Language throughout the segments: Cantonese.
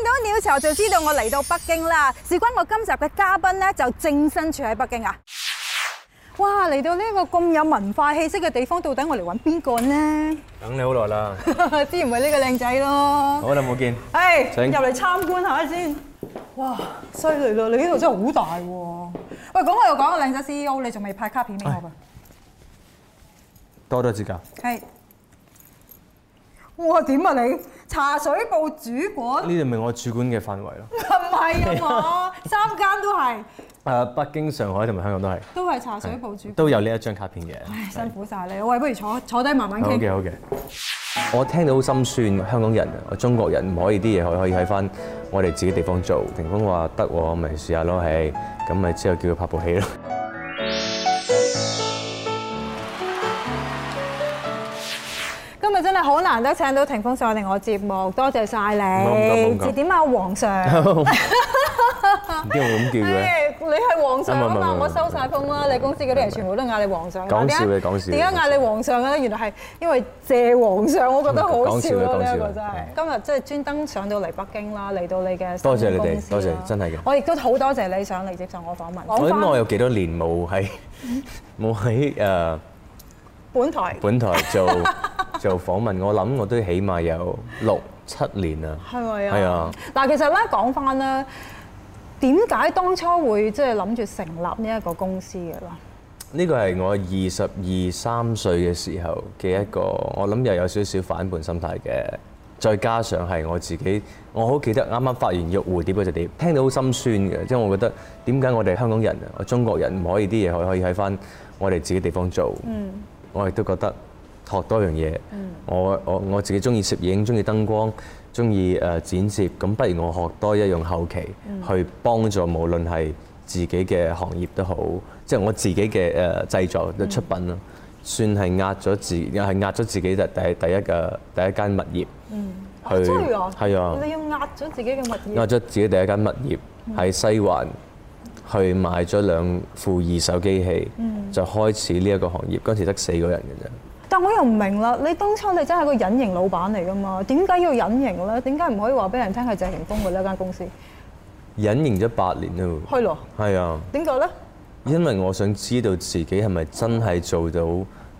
到鳥巢就知道我嚟到北京啦。事關我今集嘅嘉賓咧，就正身處喺北京啊！哇！嚟到呢個咁有文化氣息嘅地方，到底我嚟揾邊個呢？ 等你好耐啦， 之前咪呢個靚仔咯。 好耐冇見。 誒，入嚟參觀下先。哇！犀利啦！你呢度真係好大喎。喂，講我又講個靚仔 CEO， 你仲未派卡片俾我㗎？ 多多指教。 係。哇！點啊你？茶水部主管？ 呢度咪我主管嘅範圍咯。 唔係啊嘛，3間都係。 北京、上海同埋香港都係。 都係茶水部主管。 都有呢一張卡片嘅。 唉，辛苦晒你。喂，不如坐低慢慢傾。 好嘅，好嘅。我聽到好心酸，香港人、中國人唔可以啲嘢可以喺翻我哋自己地方做。霆鋒話得喎，咪試下咯，係咁咪之後叫佢拍部戲咯。 今日真係好難得請到霆鋒上嚟我節目，多謝晒你。節點啊，皇上。 點解會咁叫嘅？ 你係皇上啊嘛，我收晒風啦。你公司嗰啲人全部都嗌你皇上。 講笑嘅，講笑。 點解嗌你皇上嘅咧？原來係因為謝皇上，我覺得好笑咯。呢一個真係。今日即係專登上到嚟北京啦，嚟到你嘅新公司。多謝你哋， 多謝，真係嘅。 我亦都好多謝你上嚟接受我訪問。 我諗我有幾多年冇喺本台做訪問，我諗我都起碼有6、7年啦。係咪啊？係啊。嗱，其實咧講翻咧。點解當初會即係諗住成立呢一個公司嘅啦？呢個係我 22、23歲嘅時候嘅一個，我諗又有少少反叛心態嘅，再加上係我自己，我好記得啱啱發完《玉蝴蝶》嗰隻碟，聽到好心酸嘅，即係我覺得點解我哋香港人、中國人唔可以啲嘢可以喺翻我哋自己地方做？我亦都覺得學多樣嘢。我自己中意攝影，中意燈光。中意剪接，咁不如我學多一樣後期，去幫助無論係自己嘅行業都好，即係我自己嘅製作嘅出品咯，算係壓咗自己第一間物業。真係啊！係啊！你要壓咗自己嘅物業？壓咗自己第一間物業喺西環，去買咗2副二手機器，就開始呢一個行業。嗰陣時得4個人嘅啫。但我又唔明啦，你當初你真係個隱形老闆嚟㗎嘛？點解要隱形咧？點解唔可以話俾人聽係謝霆鋒嘅呢間公司？隱形咗8年咯。係咯。係啊。點解咧？因為我想知道自己係咪真係做到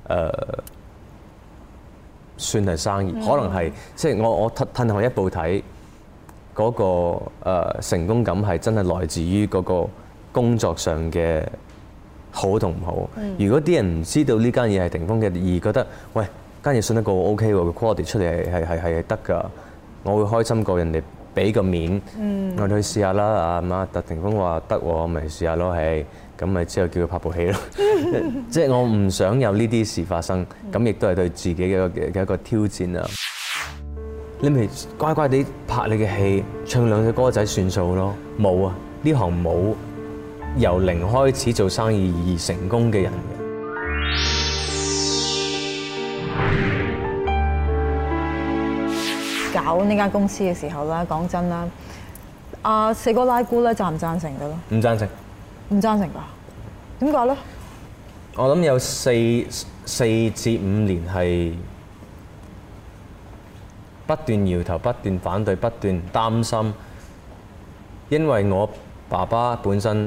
算係生意，可能係即係我褪後一步睇嗰個成功感係真係來自於嗰個工作上嘅。好同唔好？如果啲人唔知道呢間嘢係霆鋒嘅，而覺得喂間嘢信得過 OK 喎，個 quality 出嚟係得㗎，我會開心過人哋俾個面，我哋去試下啦。阿媽霆鋒話得喎，咪試下咯，係咁咪之後叫佢拍部戲咯。即係我唔想有呢啲事發生，咁亦都係對自己嘅一個挑戰啊！你咪乖乖地拍你嘅戲，唱2隻歌仔算數咯。冇啊，呢行冇。由0開始做生意而成功嘅人嘅，搞呢間公司嘅時候啦，講真啦，阿四哥拉姑咧贊唔贊成㗎咯？唔贊成，唔贊成㗎？點解咧？我諗有4至5年係不斷搖頭、不斷反對、不斷擔心，因為我爸爸本身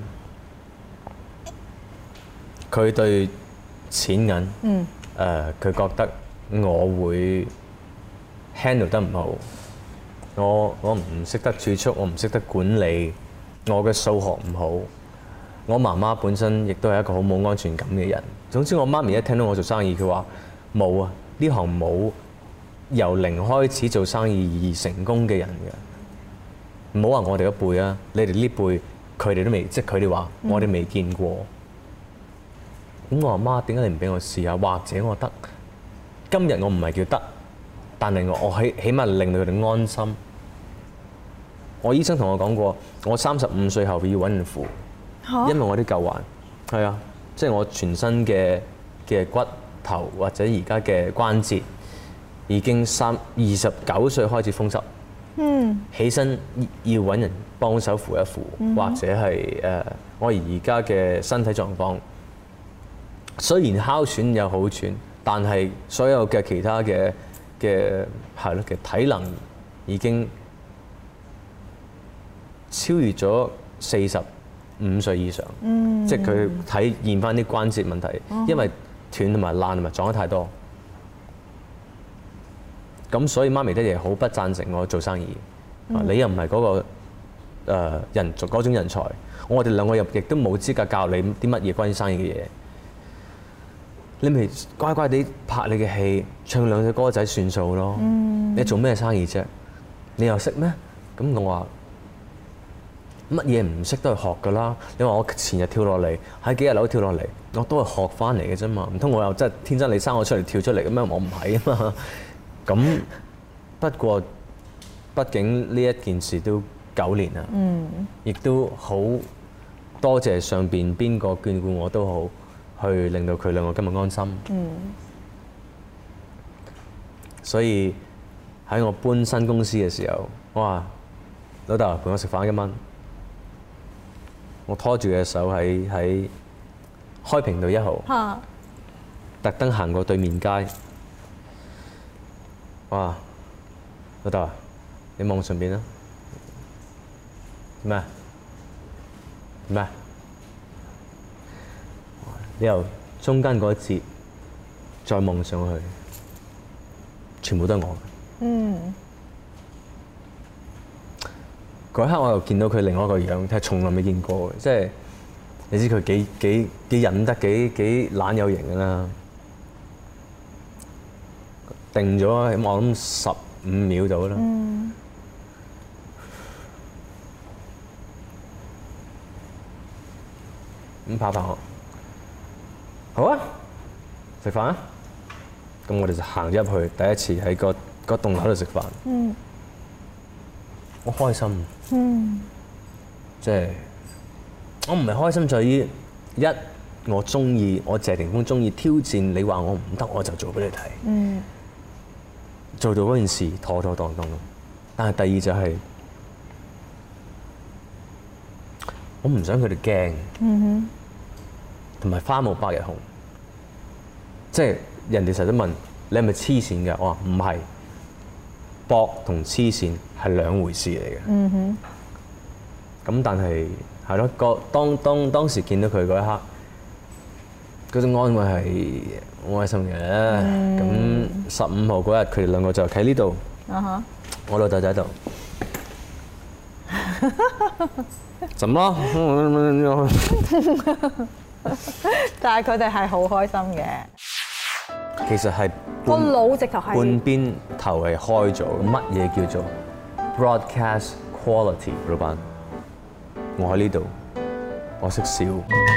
佢對錢銀佢覺得我會 handle 得唔好，我唔識得儲蓄，我唔識得管理，我嘅數學唔好。我媽媽本身亦都係一個好冇安全感嘅人。總之我媽咪一聽到我做生意，佢話冇啊，呢行冇由0開始做生意而成功嘅人嘅。唔好話我哋嗰輩啊，你哋呢輩佢哋都未，即係佢哋話我哋未見過。咁我話媽，點解你唔俾我試下？或者我得，今日我唔係叫得，但係我起碼令到佢哋安心。我醫生同我講過，我35歲後要揾人扶，因為我啲舊患係啊，即係我全身嘅骨頭或者而家嘅關節已經29歲開始風濕。起身要揾人幫手扶一扶，或者係我而家嘅身體狀況，雖然哮喘有好轉，但係所有嘅其他嘅係咯嘅體能已經超越咗45歲以上，即係佢體驗翻啲關節問題，因為斷同埋爛同埋撞得太多。咁所以媽咪爹哋好不贊成我做生意。你又唔係嗰個嗰種人才，我哋兩個亦都冇資格教你啲乜嘢關於生意嘅嘢。你咪乖乖地拍你嘅戲，唱兩隻歌仔算數咯。你做咩生意啫？你又識咩？咁我話乜嘢唔識都係學㗎啦。你話我前日跳落嚟，喺幾日樓跳落嚟，我都係學翻嚟嘅啫嘛。唔通我又真係天真你生我出嚟跳出嚟嘅咩？我唔係啊嘛。咁不過畢竟呢一件事都9年啦，亦都好多謝上邊邊個眷顧我都好，去令到佢兩個今日安心。所以喺我搬新公司嘅時候，我話老豆陪我食飯1蚊，我拖住佢嘅手喺開平道1號，特登行過對面街。哇！老豆，你望上邊啦。咩？咩？你由中間嗰一節再望上去，全部都係我嘅。嗰一刻我又見到佢另外一個樣，係從來未見過嘅，即係你知佢幾忍得幾懶有型㗎啦。定咗我諗15秒到啦。咁拍我，好啊，食飯啊！咁我哋就行入去，第一次喺個棟樓度食飯。我開心。即係我唔係開心在於我中意，我謝霆鋒中意挑戰你話我唔得，我就做俾你睇。做到嗰件事妥妥當當。但係第二就係我唔想佢哋驚，同埋花無百日紅。即係人哋成日都問你係咪黐線㗎？我話唔係，搏同黐線係兩回事嚟嘅。咁但係係咯，當時見到佢嗰一刻，嗰種安慰係好開心嘅。咁15號嗰日，佢哋兩個就喺呢度，我老豆就喺度，怎麼？ 但係佢哋係好開心嘅。 其實係個腦直頭係半邊頭係開咗。乜嘢叫做 broadcast quality，老闆？我喺呢度，我識笑。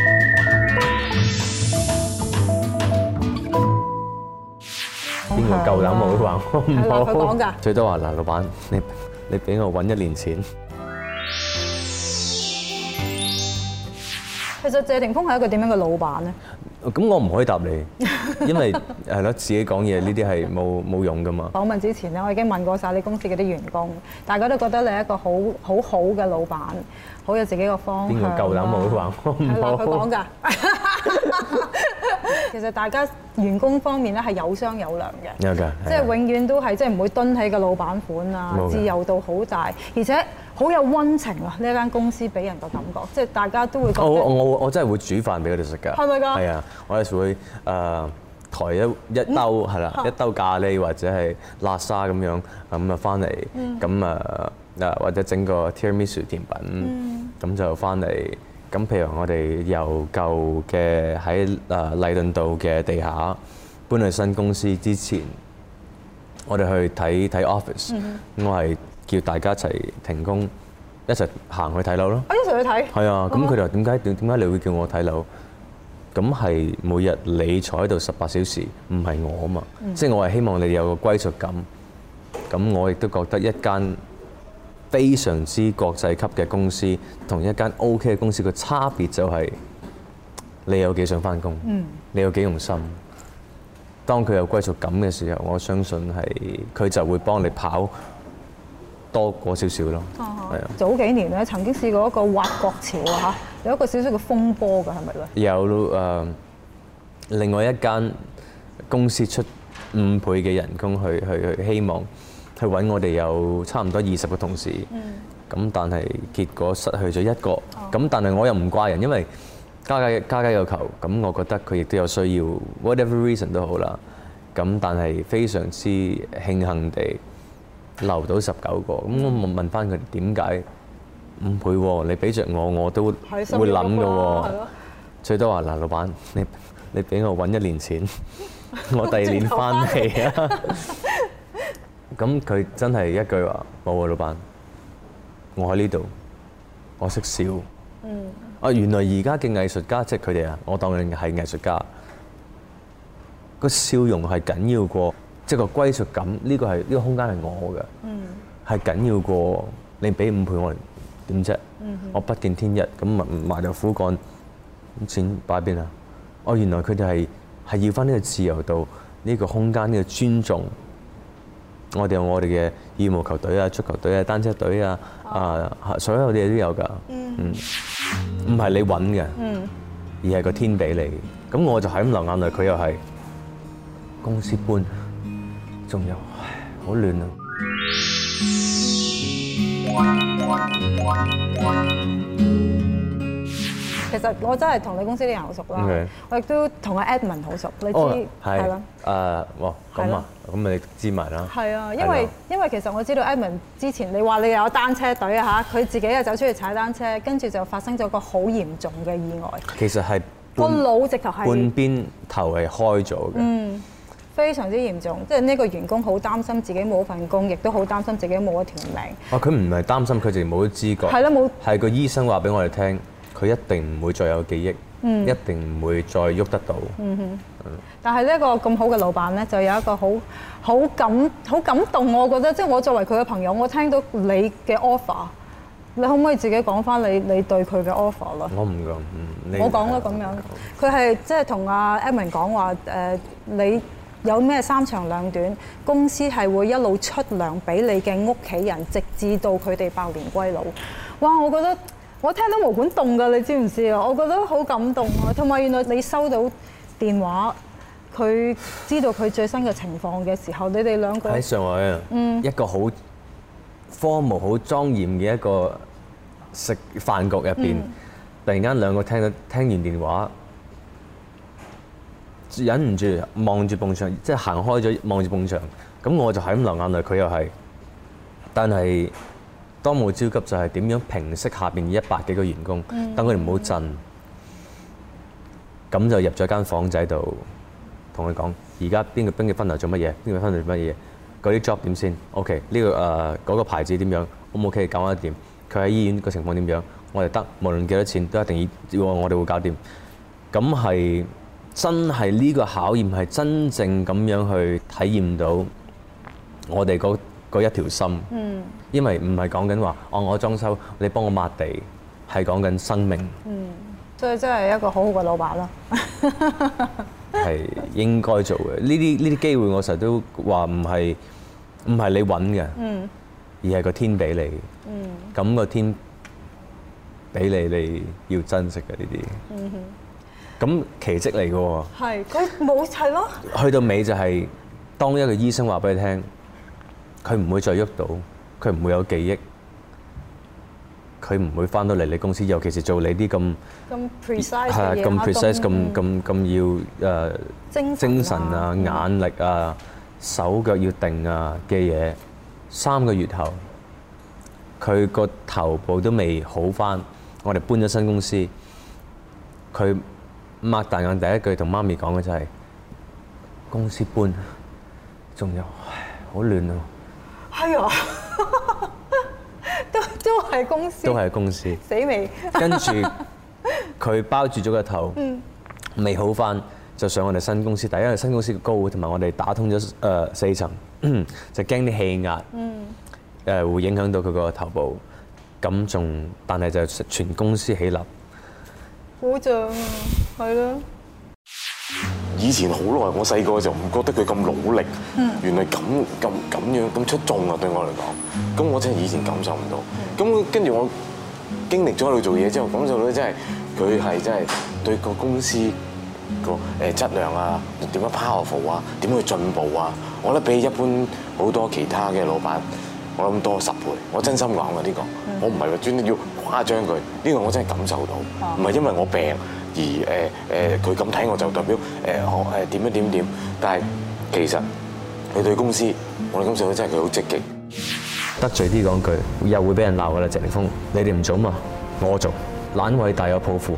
邊個夠膽冇話我唔好？ 佢講㗎。 最多話嗱，老闆，你俾我揾1年錢。 其實謝霆鋒係一個點樣嘅老闆咧？ 咁我唔可以答你，因為係咯，自己講嘢呢啲係冇用㗎嘛。 訪問之前咧，我已經問過晒你公司嗰啲員工，大家都覺得你係一個好嘅老闆，好有自己個方向。邊個夠膽冇話我唔好？佢講㗎。其實大家員工方面咧係有商有量嘅， 有㗎， 即係永遠都係即係唔會蹲喺個老闆款啊，自由度好大，而且好有溫情啊！呢一間公司俾人個感覺，即係大家都會覺得我真係會煮飯俾佢哋食㗎。 係咪㗎？ 係啊，我有時會抬一兜係啦，一兜咖喱或者係辣沙咁樣咁啊翻嚟，咁或者整個 tiramisu 甜品，咁就翻嚟。咁譬如我哋由舊嘅喺禮頓道嘅地下搬去新公司之前，我哋去睇 office，我係叫大家一齊停工，一齊行去睇樓咯。 一齊去睇。係啊，咁佢哋話點解你會叫我睇樓？咁係每日你坐喺度18小時，唔係我啊嘛。即係我係希望你哋有個歸屬感。咁我亦都覺得一間非常之國際級嘅公司，同一間 OK 嘅公司嘅差別就係你有幾想返工，你有幾用心。當佢有歸屬感嘅時候，我相信係佢就會幫你跑多過少少咯。係啊。早幾年咧，曾經試過一個挖角潮啊嚇，有一個少少嘅風波㗎，係咪咧？有另外一間公司出5倍嘅人工去希望。去揾我哋有差唔多20個同事， 咁但係結果失去咗一個，咁但係我又唔怪人，因為家家有求，咁我覺得佢亦都有需要 ，whatever reason 都好啦。咁但係非常之慶幸地留到19個，咁我問翻佢點解5倍喎？你俾着我都會諗嘅喎。最多話嗱，老闆你俾我揾1年錢，我第2年翻嚟啊！咁佢真係一句話冇啊，老闆，我喺呢度，我識笑。原來而家嘅藝術家，即係佢哋啊，我當佢係藝術家，個笑容係緊要過，即係個歸屬感。呢個空間係我嘅，係緊要過你俾5倍我點啫？我不見天日，咁埋頭苦幹，錢擺邊啊？原來佢哋係要翻呢個自由度，呢個空間，呢個尊重。我哋有我哋嘅羽毛球隊啊、足球隊啊、單車隊啊，所有嘢都有㗎。唔係你揾嘅，而係個天俾你。咁我就係咁流眼淚，佢又係公司搬，仲有好亂啊！ 其實我真係同你公司啲人好熟啦，我亦都同阿 Edmond 好熟，你知係啦。 咁啊，咁你知埋啦。 係啊，因為其實我知道 Edmond 之前你話你有單車隊啊嚇，佢自己又走出去踩單車，跟住就發生咗個好嚴重嘅意外。 其實係個腦直頭係半邊頭係開咗嘅。 非常之嚴重，即係呢個員工好擔心自己冇份工，亦都好擔心自己冇一條命。 佢唔係擔心，佢淨係冇咗知覺。 係啦，冇。係個醫生話俾我哋聽，佢一定唔會再有記憶，一定唔會再喐得到。 但係呢一個咁好嘅老闆咧，就有一個好感動，我覺得，即係我作為佢嘅朋友，我聽到你嘅 offer，你可唔可以自己講翻你對佢嘅 offer 啦？ 我唔講， 我講啦咁樣。佢係即係同阿 Edmond 講話你有咩3長2短，公司係會一路出糧俾你嘅屋企人，直至到佢哋百年歸老。哇！我覺得我聽到毛管戙㗎，你知唔知啊？我覺得好感動啊！同埋原來你收到電話，佢知道佢最新嘅情況嘅時候，你哋兩個喺上海啊，一個好formal、好莊嚴嘅一個食飯局入邊，突然間兩個聽完電話，忍唔住望住埲牆，即係行開咗望住埲牆，咁我就係咁流眼淚，佢又係。但係當務之急就係點樣平息下邊100幾個員工，等佢哋唔好震。咁就入咗間房仔度，同佢講：而家邊個分流做乜嘢？邊個分流做乜嘢？嗰啲 job 點先 ？OK， 呢個嗰個牌子點樣？可唔可以搞得掂？佢喺醫院個情況點樣？我哋得，無論幾多錢都一定要我哋會搞掂。咁係真係呢個考驗係真正咁樣去體驗到我哋嗰一條心。因為唔係講緊話我裝修，你幫我抹地，係講緊生命。 所以真係一個好好嘅老闆啦。 係應該做嘅。呢啲機會我成日都話唔係你揾嘅，而係個天俾你。咁個天俾你要珍惜嘅呢啲。咁奇蹟嚟嘅喎。係，佢冇係咯。去到尾就係當一個醫生話俾你聽，佢唔會再喐到，佢唔會有記憶。佢唔會翻到嚟你公司，尤其是做你啲咁 precise 嘅嘢，咁 precise、咁要精神啊、眼力啊、手腳要定啊嘅嘢。3個月後，佢個頭部都未好翻。我哋搬咗新公司，佢擘大眼第一句同媽咪講嘅就係：公司搬，仲有好亂啊！係啊！都係公司，都係公司，死未？跟住佢包住咗個頭，未好翻，就上我哋新公司。因為新公司嘅高，同埋我哋打通咗4層，就驚啲氣壓會影響到佢個頭部。咁但係就全公司起立，好正啊，係咯。 以前好耐，我細個就唔覺得佢咁努力，原來咁樣咁出眾啊！對我嚟講，咁我真係以前感受唔到。咁跟住我經歷咗喺度做嘢之後，感受到真係佢係真係對個公司個質量啊，點樣 powerful 啊，點去進步啊，我覺得比一般好多其他嘅老闆我諗多10倍。我真心講嘅呢個，我唔係話專登要誇張佢，呢個我真係感受到，唔係因為我病而佢咁睇我就代表點，但係其實佢對公司，我哋感受到真係佢好積極。 得罪啲講句，又會俾人鬧㗎啦，謝霆鋒，你哋唔做嘛，我做，懶偉大有抱負。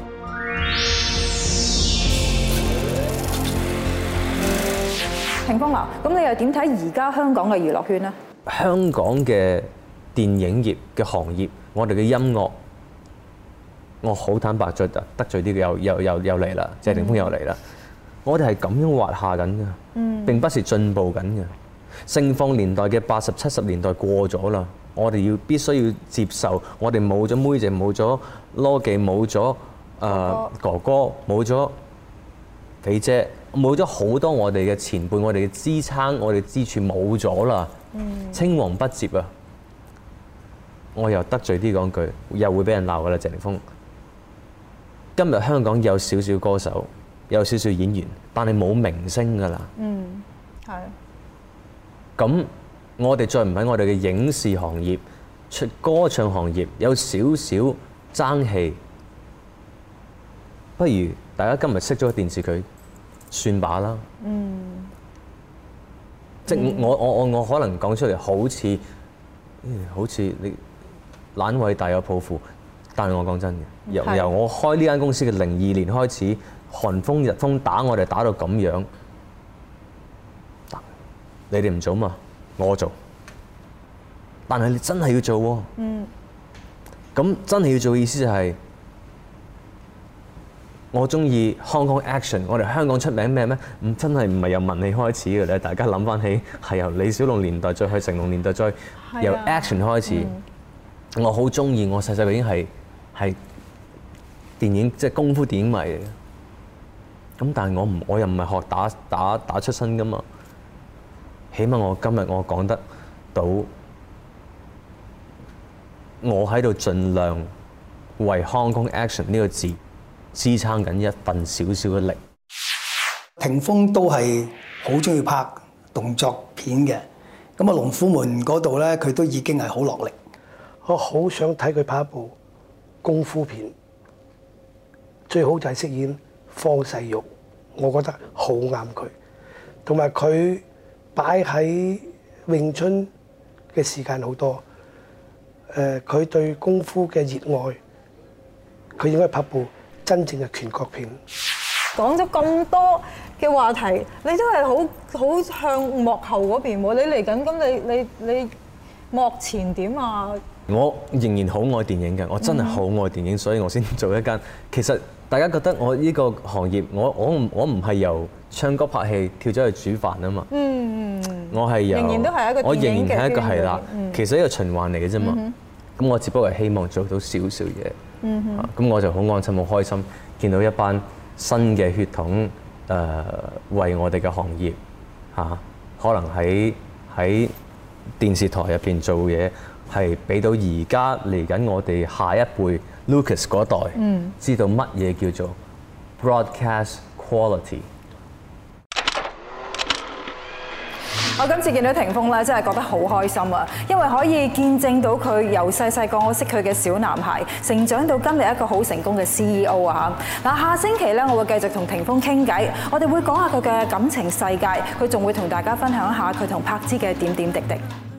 霆鋒啊，咁你又點睇而家香港嘅娛樂圈呢？ 香港嘅電影業嘅行業，我哋嘅音樂，我好坦白再得罪啲又嚟啦，謝霆鋒又嚟啦。我哋係咁樣滑下緊㗎，並不是進步緊嘅。盛放年代嘅80、70年代過咗啦，我哋必須要接受，我哋冇咗妹姐，冇咗羅記，冇咗哥哥，冇咗肥姐，冇咗好多我哋嘅前輩，我哋嘅支撐，我哋支柱冇咗啦，青黃不接啊！我又得罪啲講句，又會俾人鬧㗎啦，謝霆鋒。今日香港有少少歌手，有少少演員，但係冇明星㗎啦。 係。 咁我哋再唔喺我哋嘅影視行業、歌唱行業有少少爭氣，不如大家今日熄咗個電視佢算罷啦。即係我可能講出嚟好似你懶偉大有抱負，但係我講真嘅，由我開呢間公司嘅02年開始，寒風日風打我哋打到咁樣。你哋唔做嘛，我做。但係你真係要做喎。咁真係要做嘅意思就係，我中意 Hong Kong Action。我哋香港出名咩？真係唔係由文戲開始嘅咧。大家諗翻起係由李小龍年代再去成龍年代，再由 Action 開始。我好中意，我細細個已經係電影即係功夫電影迷嚟嘅。咁但係我又唔係學打出身㗎嘛。起碼我今日我講得到，我喺度盡量為 Hong Kong Action 呢個字支撐緊一份少少嘅力。 霆鋒都係好中意拍動作片嘅，咁啊龍虎門嗰度咧，佢都已經係好落力。 我好想睇佢拍一部功夫片，最好就係飾演方世玉，我覺得好啱佢，同埋佢擺喺詠春嘅時間好多，佢對功夫嘅熱愛，佢應該拍部真正嘅拳腳片。 講咗咁多嘅話題，你都係好向幕後嗰邊喎。你嚟緊咁，你幕前點啊？ 我仍然好愛電影嘅，我真係好愛電影，所以我先做一間。其實大家覺得我呢個行業，我唔係由唱歌拍戲跳咗去煮飯啊嘛。我係由，我仍然係一個係啦。其實一個循環嚟嘅啫嘛。咁我只不過係希望做到少少嘢。咁我就好安心、好開心，見到一班新嘅血統為我哋嘅行業可能喺電視台入邊做嘢。係俾到而家嚟緊我哋下一輩 Lucas 嗰代，知道乜嘢叫做 broadcast quality。 我今次見到霆鋒咧，真係覺得好開心啊！因為可以見證到佢由細個我識佢嘅小男孩，成長到今日一個好成功嘅 CEO 啊！嗱，下星期咧，我會繼續同霆鋒傾偈，我哋會講下佢嘅感情世界，佢仲會同大家分享一下佢同柏芝嘅點點滴滴。